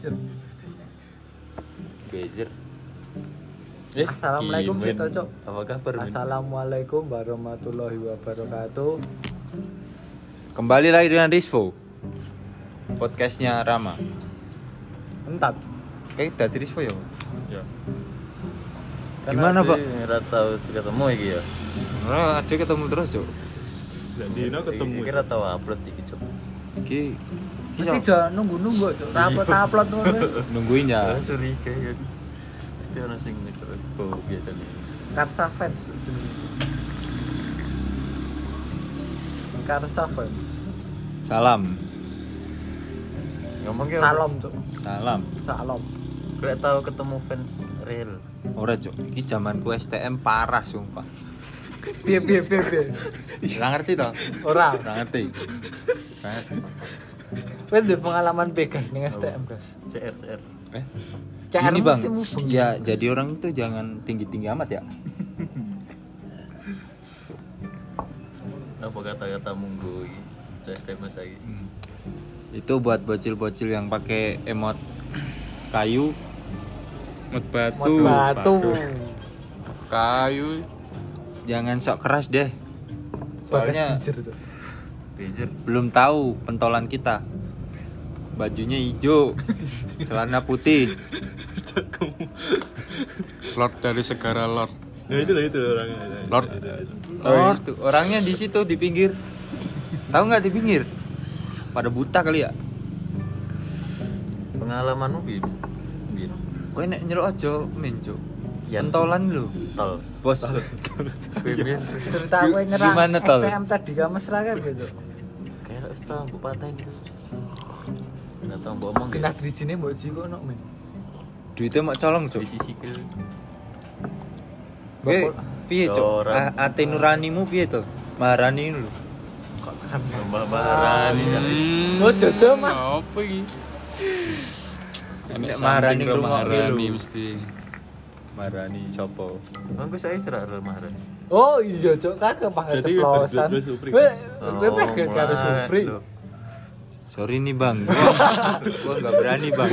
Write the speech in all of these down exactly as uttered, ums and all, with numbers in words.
Bezer. Bezer. Eh, Assalamualaikum Cito Cok. Apa kabar? Assalamualaikum warahmatullahi wabarakatuh. Kembali lagi dengan Rizvo. Podcastnya Rama. Entar. Kayak dari Rizvo ya? Ya. Gimana, Pak? Ora tau ketemu iki ya. Ora, ada ketemu terus, Cok. Lah dino ketemu. Kira tahu upload iki, Cok. Iki Iki udah nunggu-nunggu Cok. Upload-upload ngono. nungguin ya. Curiga ya. Pasti ono sing terus oh biasanya. Karsa fans. Karsa fans. Salam. Ngomong ke Salam Cok. Salam. Salam. Ora tau ketemu fans real. Ora, Cok. Iki zamanku S T M parah sumpah. Piye piye piye piye. Ora ngerti toh? Ora. Ora ngerti. Ora ngerti. Kowe ndek pengalaman pegang ning S T M, Guys. C R C R. Eh, C R ini Bang. mesti mubeng. Ya, jadi orang itu jangan tinggi-tinggi amat ya. Apa kata-kata munggo iki? C R masa iki. Hmm. Itu buat bocil-bocil yang pakai emot kayu, Mot batu. Mot batu. kayu. Jangan sok keras deh. Soalnya Bezer, Cok. Bezer. belum tahu pentolan kita. Bajunya hijau, celana putih. Lord dari segara Lord. Nah itu lah itu orangnya. Lord. Oh, tuh, orangnya di situ di pinggir. Tahu nggak di pinggir? Pada buta kali ya. Pengalamanmu bi? Bi. Kowe nek nyeluk aja men, Cuk. Ya. Pentolan lu. Tol. Bos. Kowe biyen Cerita kowe nyerang Gimana, Tol? S T M tadi ka mesra kan gitu. kayak wis tau mbok patahin itu. Enggak tau mbok omong Genah ya. drijine mbok jiko nok men. Duitnya mak colong, Cuk. Biji sikil. Kowe piye, Cuk? Orang. A- Ate nuranimu piye to? Marani lu. Mbak Marani. Oh, jojo mah. Apa iki? Nek Maharani something ngrungokne Maharani lho. mesti. Marani sopo? Mangko saya cerak Real Maharani. Oh iya Cok, kagak pakai Berarti ceplosan. dua-dua Supri. Kowe Oh, kowe pegang karo mulai. Supri. Loh. Sorry nih, Bang. Gua gua enggak berani, Bang.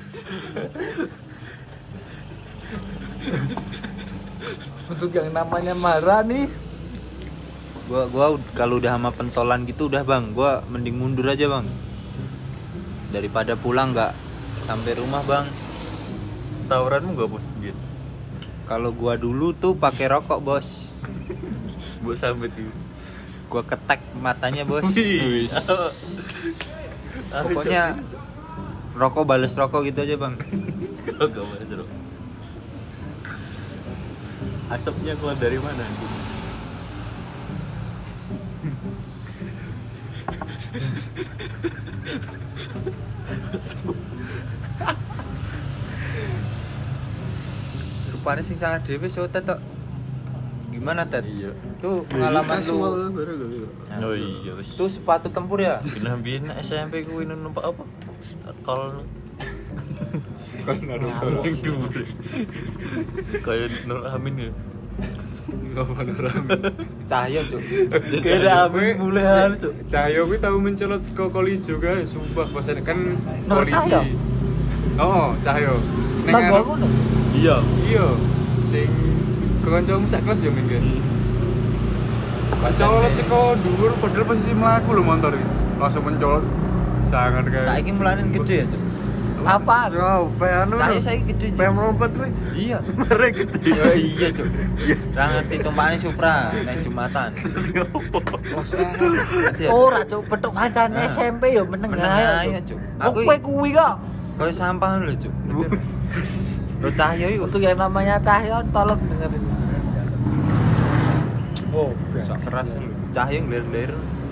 Untuk yang namanya marah nih. Gua gua ud- kalau udah sama pentolan gitu udah, Bang. Gua mending mundur aja, Bang. Daripada pulang nggak sampai rumah, Bang. Tawuranmu enggak bos gitu. Kalau gua dulu tuh pakai rokok, Bos. Mbok sambet itu. Gua ketek matanya, Bos. Wih. Pokoknya rokok bales rokok gitu aja, Bang. enggak mas bro. Asapnya keluar dari mana? Rupanya sing sangat dhewe so Tet tok. Gimana, Tet? Iya. Itu pengalaman lu. Oh iya wis. Itu sepatu tempur ya? Bilang biyen S M P ku ini numpak apa? Kol Kan Naruto. ning dhuwur. Kayak Nur Amin ya. Ngapa Naruto? Cahyo, Cuk. Kira Amin mulai Cuk. Cahyo kuwi tau mencolot saka Kolijo kae, sumpah pas kan Nur polisi. Cahyo? Oh, Cahyo. Ning Tanggal arep- ngono. Iya. Iya, sing kancamu sak kelas ya men kan. Mencolot saka dhuwur padahal posisi mlaku lho motor iki. Langsung mencolot sangat kae. Saiki mulanin gede ya, Cuk. Apa? Yo, pe anu. Cahyo saiki gede. Pe melompat kuwi. Iya. Mereka gede. Oh iya, Cuk. Ra ngerti tumpakane Supra nek Jumatan. Hati-hati. Ora Cok, petuk kancane S M P ya meneng Meneng ae. ae, Cuk. Aku Aku kowe kuwi kok. koyo sampah lho, Cuk. Lo Cahyo iku Untuk yang namanya Cahyo tolong dengerin. Oh, sak keras lho. Cahyo ngler-ngler.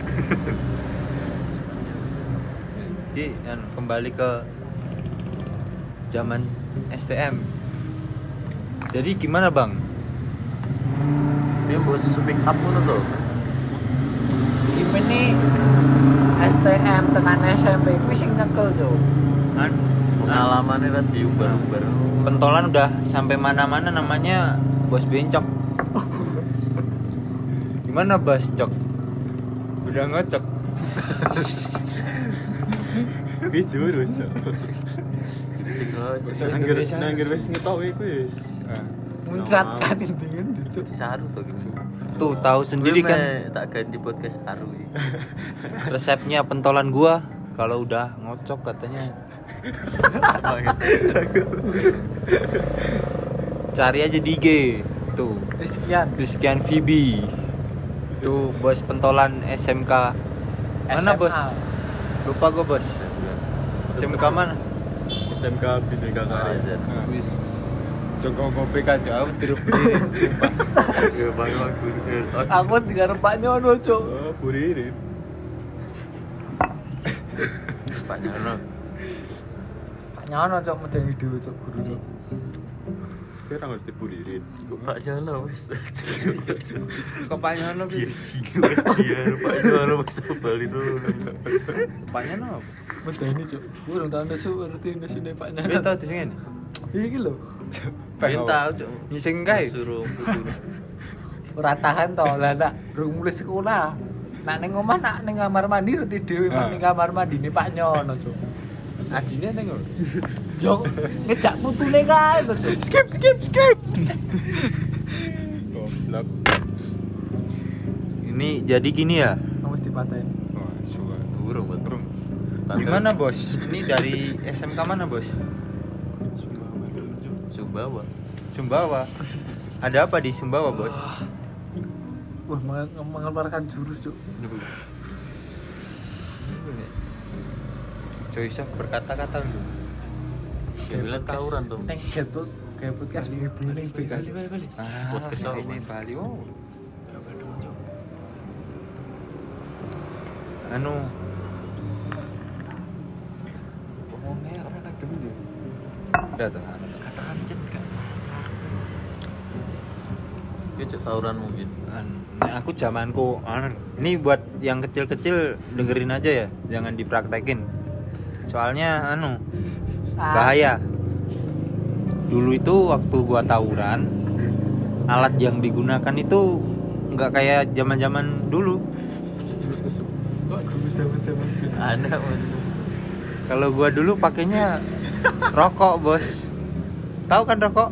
Jadi kan kembali ke zaman S T M. Jadi gimana, Bang? Dia bos speak up ngono to. Gimana nih S T M tekan S M P kuwi sing nyekel Cok. Kan Pengalamannya kan diumbar-umbar. pentolan udah sampai mana-mana namanya Bos Bencok. Gimana, Bos Cok? Udah ngocok. Gue jurus, Cok. Sing ojo. Nangger nangger wis ngetok iku wis. Muncratkan intinya Cuk. Saru to gitu. Tuh tahu sendiri Gue kan meh tak ganti podcast Saru iki. resepnya pentolan gua kalau udah ngocok katanya Semangat. cari aja di I G tuh Sekian. Rizkian Fibi tuh bos pentolan S M K mana S M A. bos lupa gua bos S M K mana S M K Bhinneka Karya. wis Joko kopi kacau tiru berdiri sumpah Ya bang aku. Aku tiga rempak nyono Cuk. Oh, Buririn. Pak Nyono. Pak nyono Cuk medeni dhewe Cuk guru Cuk. Kira ngerti Buririn. Pak Nyono wis. kepanya no Iya sih, wis iya Pak Nyono wis bali dulu. kepanya no Medeni Cuk. Urung tau nesu ngerti nesune Pak dia nyono. tau di sini Iki lho. Pengen tahu cuk. ngising kae Suruh putu. Ora tahan to lah nak durung mulai sekolah. Nak ning omah nak ning kamar mandi reti dhewe Ah. ning kamar mandine Pak Nyono Cuk. adine neng Jok ngejak putune kae to Cuk. skip skip skip Goblok. ini jadi gini ya Wis dipateni. Oh, suka. Burung buat burung. gimana bos ini dari S M K mana bos Sumbawa. Sumbawa ada apa di Sumbawa bos Wah, meng- mengeluarkan jurus Cuk. Joyce berkata-kata lu Ya bilang tawuran tuh. Neng getut kayak podcast ini ning B K. ah Podcast apa, ini Mas? Bali wow anu ngomongnya apa kan dulu udah tuh Kata kancet kan. Ya cuk tawuran mungkin. An- nah, aku zamanku anu, ini buat yang kecil-kecil dengerin aja ya jangan dipraktekin soalnya anu bahaya dulu itu waktu gua tawuran alat yang digunakan itu nggak kayak zaman-zaman dulu Kok guru jaman-jaman dulu. Anak kalau gua dulu pakainya rokok bos tahu kan rokok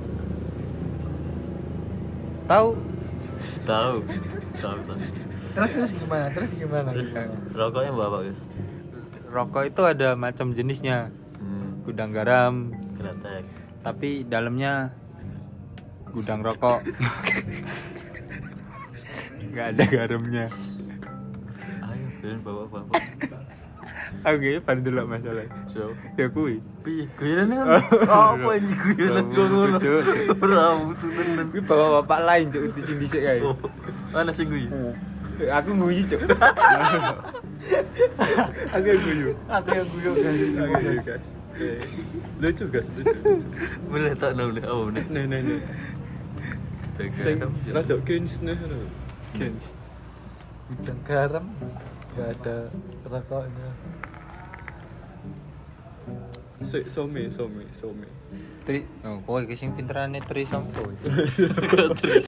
tahu tahu. Tahu tahu. Terus terus gimana? Terus gimana? Rokoknya bawa gitu. rokok itu ada macam jenisnya Hmm, gudang garam kretek. tapi dalamnya gudang rokok nggak ada garamnya Ayo kalian bawa bawa. oke pada dulu masalah So, ya kui piye guyonan kan? Oh, apa ini guyonan kok ngono? Cuk, cuk. Ora butuh tenan. kui bawa bapak lain cuk di sini sih kayak Oh, mana sih gue? aku nguyi cuk Aku yang guyu. Aku yang guyon guys. Aku yang guyu, guys. Eh, Lucu guys, lucu. lucu. Bener tak tahu deh, apa bener? Nih, nih, nih. Sing rada cringe nih. Cringe. Gudang garam enggak ada rokoknya. Si- Some, some, some. tri oh kowe ki sing pinterane tri sampo Terus